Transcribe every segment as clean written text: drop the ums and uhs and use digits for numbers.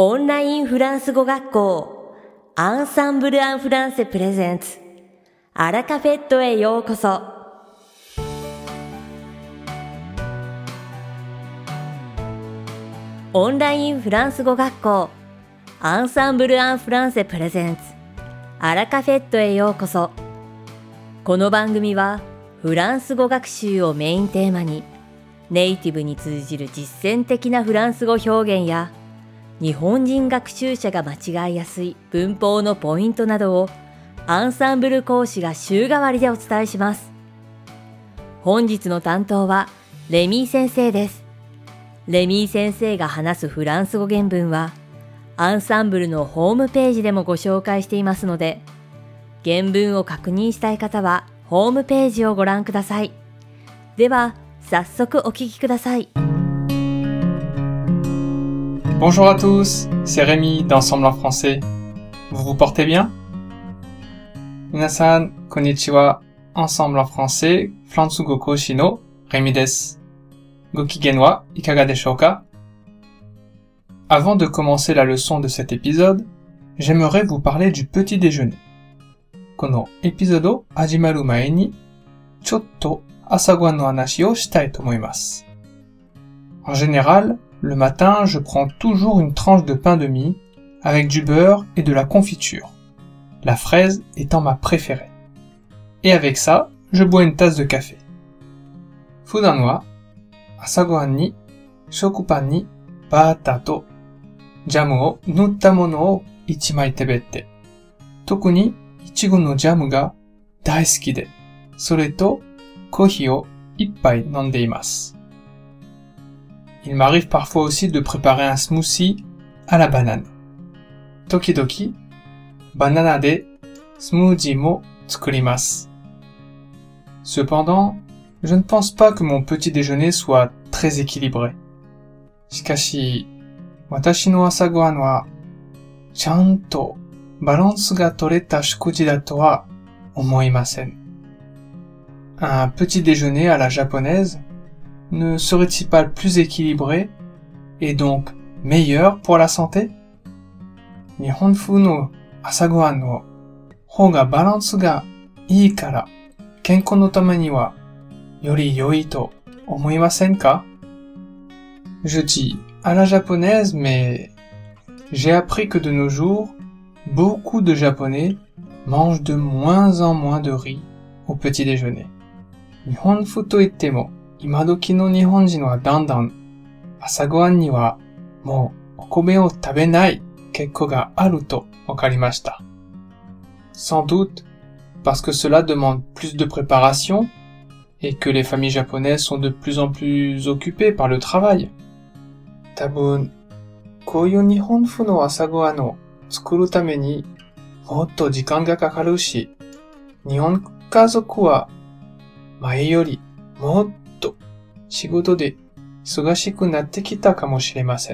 オンラインフランス語学校アンサンブル・アン・フランセプレゼンツアラカフェットへようこそ。オンラインフランス語学校アンサンブル・アン・フランセプレゼンツアラカフェットへようこそ。この番組はフランス語学習をメインテーマにネイティブに通じる実践的なフランス語表現や日本人学習者が間違いやすい文法のポイントなどをアンサンブル講師が週替わりでお伝えします。本日の担当はレミー先生です。レミー先生が話すフランス語原文はアンサンブルのホームページでもご紹介していますので、原文を確認したい方はホームページをご覧ください。では早速お聞きください。 Bonjour à tous, c'est Rémi d'Ensemble en français. Vous vous portez bien? Minasan, konnichiwa. Ensemble en français, Flansugo Koshi no Rémi desu. Gokigen wa ikaga deshou ka? Avant de commencer la leçon de cet épisode, j'aimerais vous parler du petit déjeuner. Kono épisode o hajimaru mae ni, chotto asagohan no hanashi o shitai to omoimasu. En général, le matin, je prends toujours une tranche de pain de mie avec du beurre et de la confiture, la fraise étant ma préférée. Et avec ça, je bois une tasse de café. Fudan wa asagohan ni shokupan ni bata to jamu o nutta mono o ichimai tebette. Toku ni ichigo no jamu ga daisuki de, sore to kohi o ippai nonde imasu. Il m'arrive parfois aussi de préparer un smoothie à la banane. Tokidoki, banana de smoothie mo tsukurimasu. Cependant, je ne pense pas que mon petit déjeuner soit très équilibré. Shikashi, watashi no asagohan wa chanto balansu ga toreta shukuji da to wa omoimasen. Un petit déjeuner à la japonaise ne serait-il pas plus équilibré et donc meilleur pour la santé? Nihonfu no asagohan no hou ga balansu ga ii kara kenko no tame ni wa yori yoi to omoimasen ka? Je dis à la japonaise, mais j'ai appris que de nos jours, beaucoup de Japonais mangent de moins en moins de riz au petit déjeuner. Nihonfu to ittemo imadoki no Nihonjin wa dandan asagohan ni wa mou okome o tabenai kekko ga aru to wakarimashita. Sans doute parce que cela demande plus de préparation et que les familles japonaises sont de plus en plus occupées par le travail. Tabun, kouyu nihonfu no asagohan o tsukuru tame ni motto jikan ga kakaru shi, nihon kazoku wa mae yori motto shigoto de isogashiku natte kita kamoshiremasen.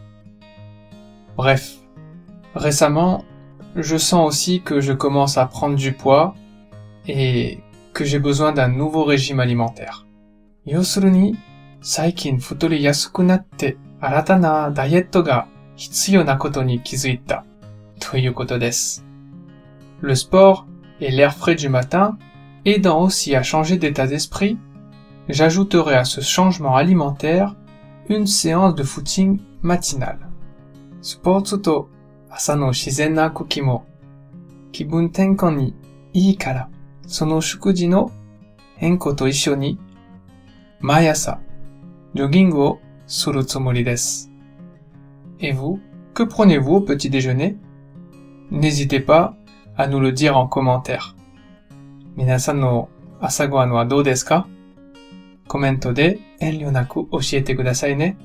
Bref, récemment, je sens aussi que je commence à prendre du poids et que j'ai besoin d'un nouveau régime alimentaire. Yousuru ni, saikin futori yasuku natte arata na dietto ga hitsuyo na koto ni kizuita toいうことです. Le sport et l'air frais du matin aidant aussi à changer d'état d'esprit, j'ajouterai à ce changement alimentaire une séance de footing matinale. Sportsu to asa no shizen na koki mo kibun tenkon ni ii kara, sono shukuji no henko to issho ni maiasa jogging o suru tsumori desu. Et vous, que prenez-vous au petit déjeuner? N'hésitez pas à nous le dire en commentaire. Minasan no asagohan wa dou desu ka? コメントで遠慮なく教えてくださいね。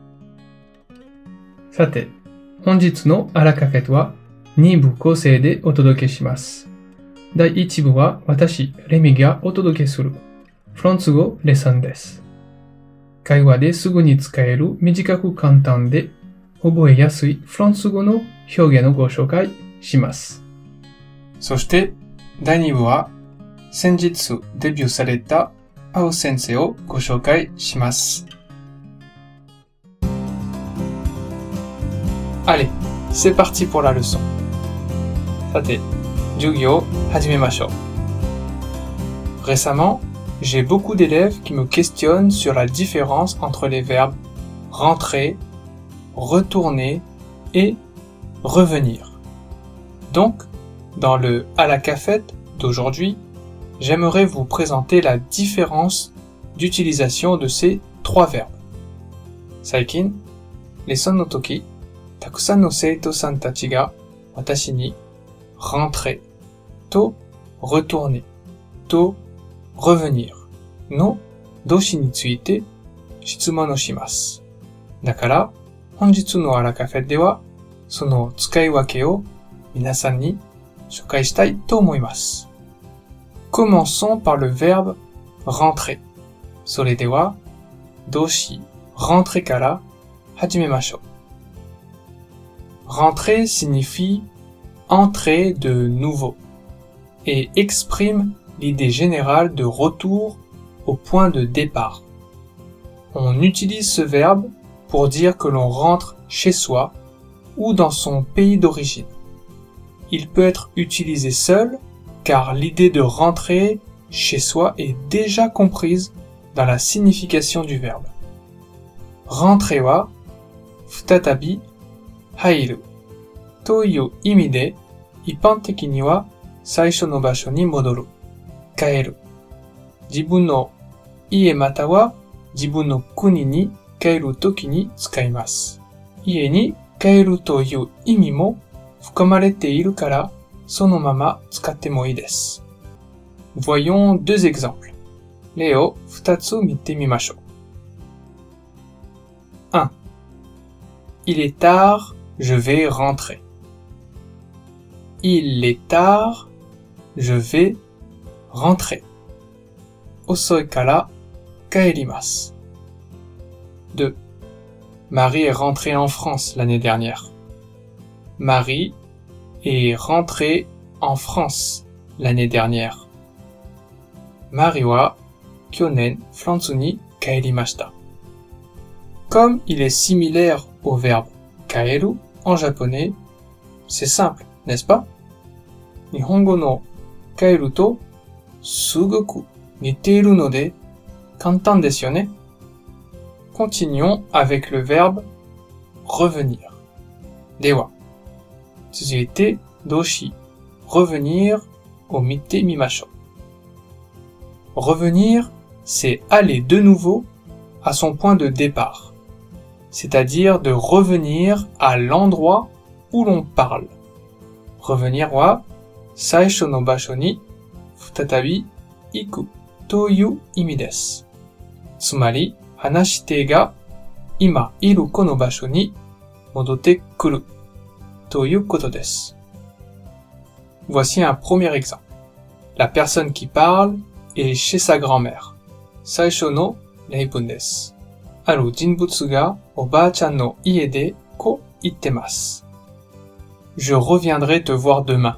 さて、本日のアラカフェとは2部構成でお届けします。第1部は私、レミがお届けするフランス語レッスンです。会話ですぐに使える短く簡単で覚えやすいフランス語の表現をご紹介します。そして、第2部は先日デビューされた青先生をご紹介します。 Allez, c'est parti pour la leçon. さて、授業始めましょう。Récemment, j'ai beaucoup d'élèves qui me questionnent sur la différence entre les verbes rentrer, retourner et revenir. Donc, dans le à la cafette d'aujourd'hui, j'aimerais vous présenter la différence d'utilisation de ces trois verbes. 最近、レッスンの時、たくさんの生徒さんたちが私に rentrer と retourner と revenir の動詞について質問をします。だから、本日のあらカフェでは、その使い分けを皆さんに紹介したいと思います。Commençons par le verbe rentrer. それでは、動詞 rentrer から始めましょう。Rentrer signifie entrer de nouveau et exprime l'idée générale de retour au point de départ. On utilise ce verbe pour dire que l'on rentre chez soi ou dans son pays d'origine. Il peut être utilisé seul car l'idée de rentrer chez soi est déjà comprise dans la signification du verbe. Rentrer wa futatabi hairu という意味で、一般的には最初の場所に戻る、帰る。自分の家または自分の国に帰るときに使います。家に帰るという意味も含まれているから、そのまま使ってもいいです。Voyons deux exemples. 例を2つ見てみましょう。1. Il est tard, je vais rentrer. Il est tard, je vais rentrer. 遅いから帰ります。2. Marie est rentrée en France l'année dernière. Marie est rentrée en France l'année dernière. Marie wa kyonen France ni kaerimashita. Comme il est similaire au verbe kaeru en japonais, c'est simple, n'est-ce pas? Nihongo no kaeru to sugoku niteiru node kantan desu yo ne? Continuons avec le verbe revenir. Dewa. Tsuzuite doshi revenir au mite mimashou. Revenir, c'est aller de nouveau à son point de départ, c'est-à-dire de revenir à l'endroit où l'on parle. Revenir wa saisho no basho ni futatabi iku toいう意味です。つまり、話し手が今いるこの場所に戻ってくるということです。Voici un premier exemple. La personne qui parle est chez sa grand-mère. 最初の例文です。ある人物がおばあちゃんの家でこう言ってます。Je reviendrai te voir demain.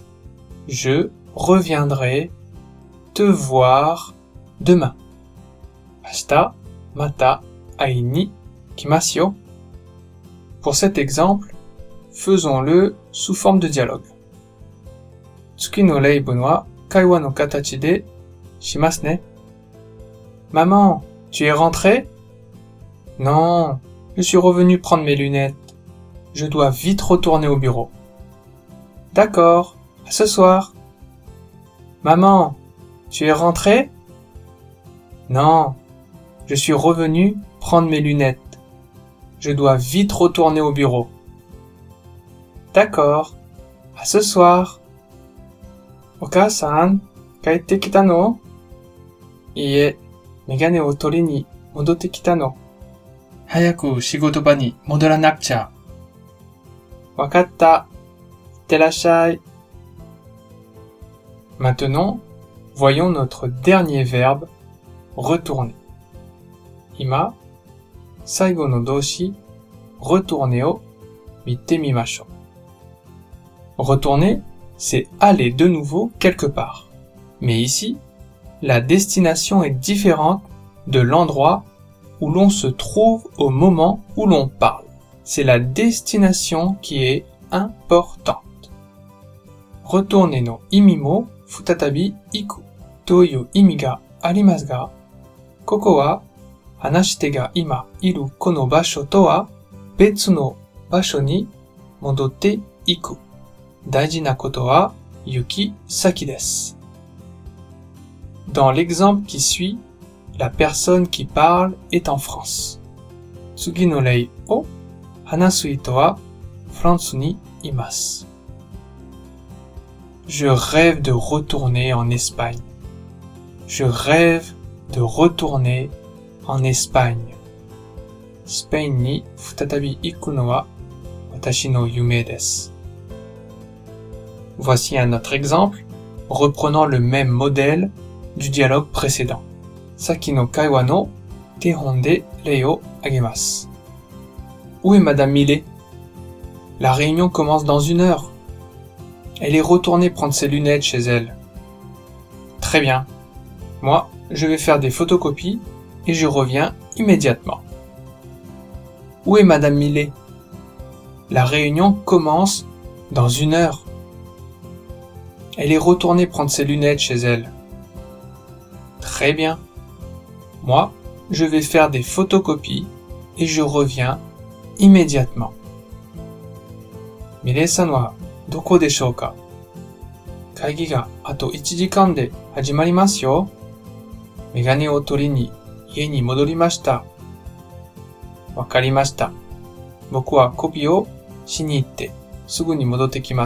Je reviendrai te voir demain. 明日また会いに来ますよ。Pour cet exemple, faisons-le sous forme de dialogue. 次の例文は会話の形でしますね。Maman, tu es rentrée? Non, je suis revenu prendre mes lunettes. Je dois vite retourner au bureau. D'accord, à ce soir. Maman, tu es rentrée? Non, je suis revenu prendre mes lunettes. Je dois vite retourner au bureau. D'accord, à ce soir. Oka-san, 帰ってきたの? いいえ、メガネを取りに戻ってきたの。早く仕事場に戻らなくちゃ。わかった。いってらっしゃい。Maintenant, voyons notre dernier verbe, retourner. 今、最後の動詞、retourner を見てみましょう。Retourner, c'est aller de nouveau quelque part. Mais ici, la destination est différente de l'endroit où l'on se trouve au moment où l'on parle. c'est la destination qui est importante. ロトーネの意味も再び行くという意味がありますが、ここは話し手が今いるこの場所とは別の場所に戻っていく。大事なことは行き先です。Dans l'exemple qui suit, la personne qui parle est en France. 次の例を話す人はフランスにいます。Je rêve de retourner en Espagne. Je rêve de retourner en Espagne. スペインに再び行くのは私の夢です。Voici un autre exemple, reprenant le même modèle du dialogue précédent. さっきの会話の手本で例を挙げます。Où est Madame Millet? La réunion commence dans 1 heure. Elle est retournée prendre ses lunettes chez elle. Très bien. Moi, je vais faire des photocopies et je reviens immédiatement. Où est Madame Millet? La réunion commence dans 1 heure. Elle est retournée prendre ses lunettes chez elle. Très bien. Moi, je vais faire des photocopies et je reviens immédiatement. Millet-san wa doko deshou ka? Kaigi ga ato 1時間で始まりますよ。メガネを取りに家に戻りました。わかりました。僕はコピーをしに行ってすぐに戻ってきます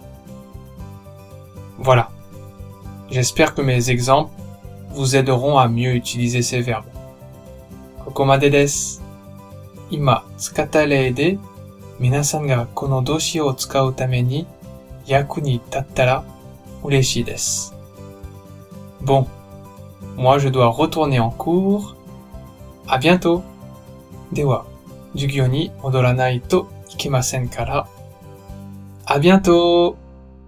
。Voilà. J'espère que mes exemples vous aideront à mieux utiliser ces verbes. ここまでです。今使った例で皆さんがこの動詞を使うために役に立ったら嬉しいです。Bon, moi je dois retourner en cours. À bientôt. では、授業に戻らないといけませんから。À bientôt.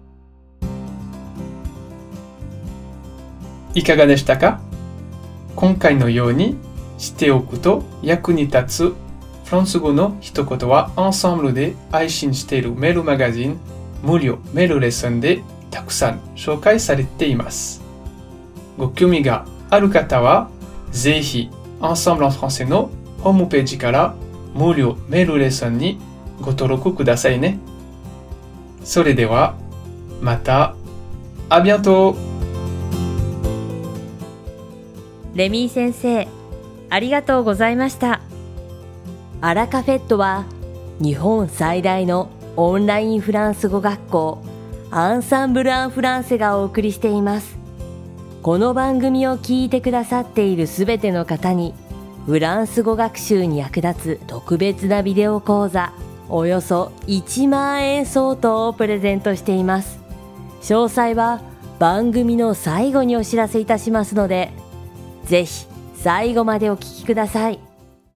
いかがでしたか？今回のようにしておくと役に立つフランス語の一言はアンサンブルで配信しているメールマガジン無料メールレッスンでたくさん紹介されています。ご興味がある方はぜひアンサンブルen françaisのホームページから無料メールレッスンにご登録くださいね。それではまた。À bientôt。 レミー先生、ありがとうございました。アラカフェットは日本最大のオンラインフランス語学校アンサンブル・アン・フランセがお送りしています。この番組を聞いてくださっているすべての方にフランス語学習に役立つ特別なビデオ講座およそ1万円相当をプレゼントしています。詳細は番組の最後にお知らせいたしますので、ぜひ最後までお聞きください。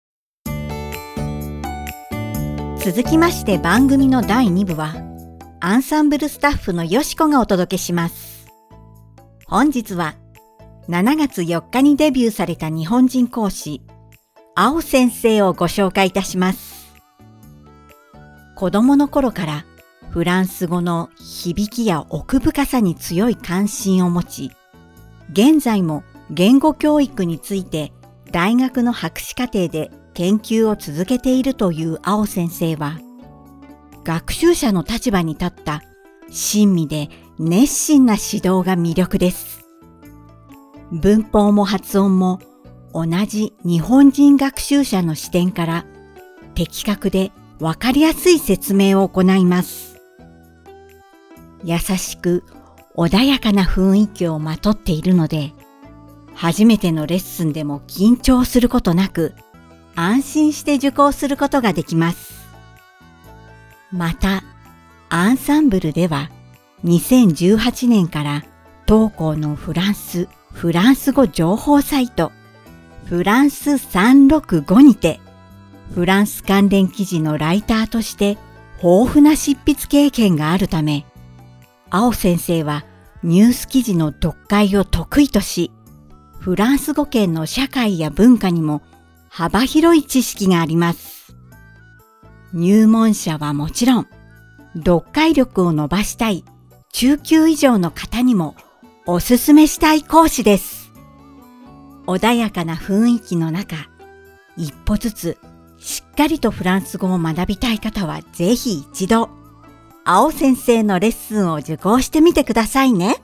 続きまして番組の第2部はアンサンブルスタッフのよしこがお届けします。本日は7月4日にデビューされた日本人講師青先生をご紹介いたします。子供の頃からフランス語の響きや奥深さに強い関心を持ち、現在も言語教育について大学の博士課程で研究を続けているという青先生は、学習者の立場に立った親身で熱心な指導が魅力です。文法も発音も同じ日本人学習者の視点から的確でわかりやすい説明を行います。優しく穏やかな雰囲気をまとっているので、初めてのレッスンでも緊張することなく、安心して受講することができます。また、アンサンブルでは、2018年から当校のフランス語情報サイト、フランス365にて、フランス関連記事のライターとして豊富な執筆経験があるため、青先生はニュース記事の読解を得意とし、フランス語圏の社会や文化にも幅広い知識があります。 入門者はもちろん、読解力を伸ばしたい中級以上の方にもおすすめしたい講師です。穏やかな雰囲気の中、一歩ずつしっかりとフランス語を学びたい方はぜひ一度、青先生のレッスンを受講してみてくださいね。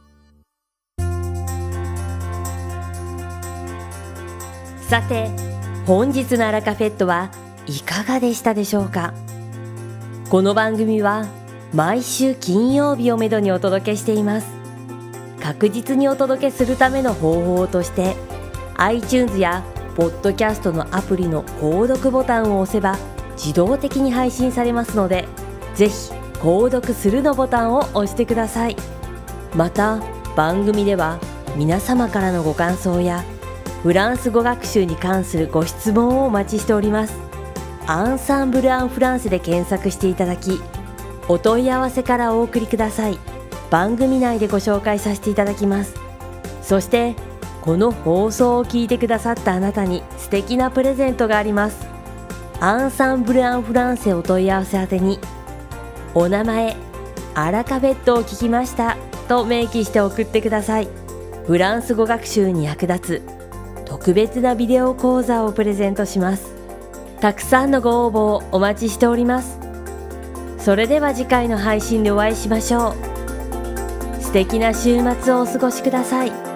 さて、本日のアラカフェットはいかがでしたでしょうか。この番組は毎週金曜日をめどにお届けしています。確実にお届けするための方法として、iTunes やポッドキャストのアプリの購読ボタンを押せば自動的に配信されますので、ぜひ購読するのボタンを押してください。また番組では皆様からのご感想やフランス語学習に関するご質問をお待ちしております。アンサンブル・アン・フランセで検索していただき、お問い合わせからお送りください。番組内でご紹介させていただきます。そしてこの放送を聞いてくださったあなたに素敵なプレゼントがあります。アンサンブル・アン・フランセお問い合わせ宛てに、お名前、アラカフェットを聞きましたと明記して送ってください。フランス語学習に役立つ特別なビデオ講座をプレゼントします。たくさんのご応募をお待ちしております。それでは次回の配信でお会いしましょう。素敵な週末をお過ごしください。